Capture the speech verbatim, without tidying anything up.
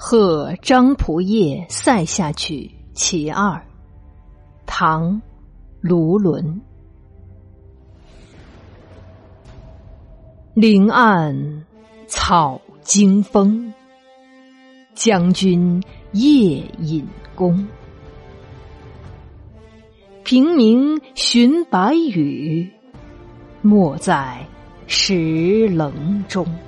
贺张仆射塞下曲其二，唐·卢纶。林暗草惊风，将军夜引弓。平明寻白羽，没在石棱中。